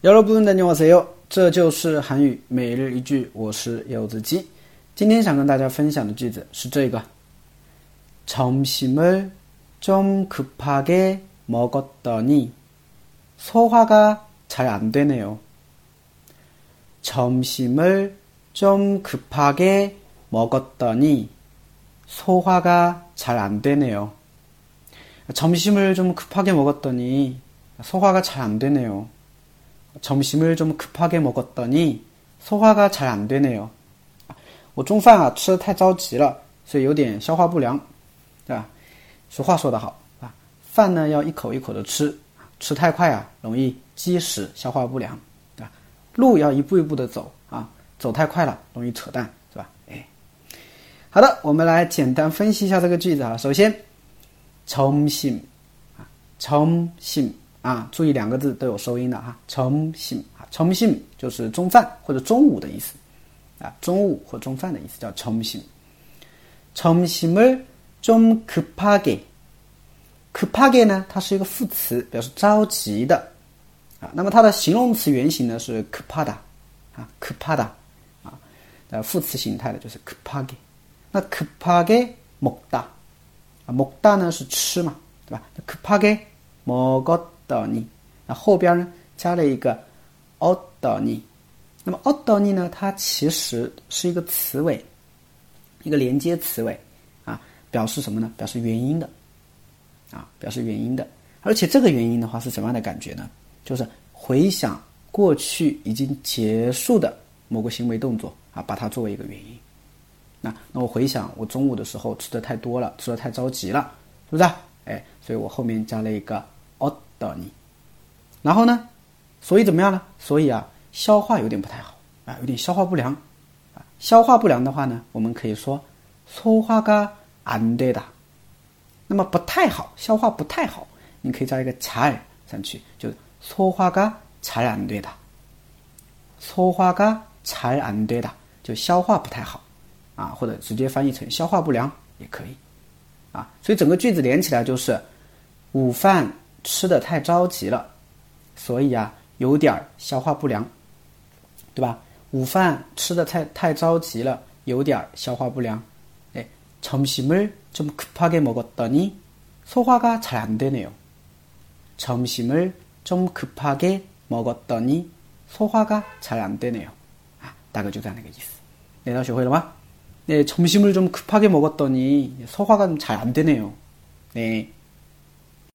여러분 안녕하세요. 这就是韩语每日一句，我是柚子鸡。今天想跟大家分享的句子是这个 점심을 좀 급하게 먹었더니 소화가 잘 안 되네요. 점심을 좀 급하게 먹었더니 소화가 잘 안 되네요. 점심을 좀 급하게 먹었더니 소화가 잘 안 되네요. 점심을 좀 급하게 먹었더니 소화가 잘 안 되네요. 我中饭吃得太着急了，所以有点消化不良，对吧？俗话说得好啊，饭呢要一口一口的吃，吃太快啊容易积食，消化不良，对吧？路要一步一步的走啊，走太快了容易扯淡，是吧？好的，我们来简单分析一下这个句子啊。首先，점심 점심啊，注意两个字都有收音的哈。점심 점심就是中饭或者中午的意思啊，中午或中饭的意思叫점심。점심을 좀 급하게， 급하게呢，它是一个副词，表示着急的啊。那么它的形容词原形呢是급하다啊，급하다啊，副词形态的就是급하게。那급하게 먹다啊，먹다呢是吃嘛，对吧？급하게 먹었더니，那后边呢加了一个어떠니。那么어떠니呢，它其实是一个词尾，一个连接词尾啊，表示什么呢？表示原因的啊，表示原因的。而且这个原因的话是什么样的感觉呢？就是回想过去已经结束的某个行为动作啊，把它作为一个原因。那我回想我中午的时候吃的太多了，吃的太着急了，是不是？所以我后面加了一个어떠니。然后呢，所以怎么样呢？所以啊，消化有点不太好啊，有点消化不良啊。消化不良的话呢，我们可以说소화가 안 되다。那么不太好，消化不太好，你可以加一个잘上去，就是소화가 잘 안 되다。소화가 잘 안 되다，就消化不太好啊，或者直接翻译成消化不良也可以啊。所以整个句子连起来就是午饭吃得太着急了，所以啊有点消化不良，对吧？午饭吃得太着急了，有点消化不良。점심을 좀 급하게 먹었더니 소화가 잘 안 되네요. 점심을 좀 급하게 먹었더니 소화가 잘 안 되네요. 大概就这样的一个意思。大家学会了吗？점심을 좀 급하게 먹었더니 소화가 잘 안 되네요. 네.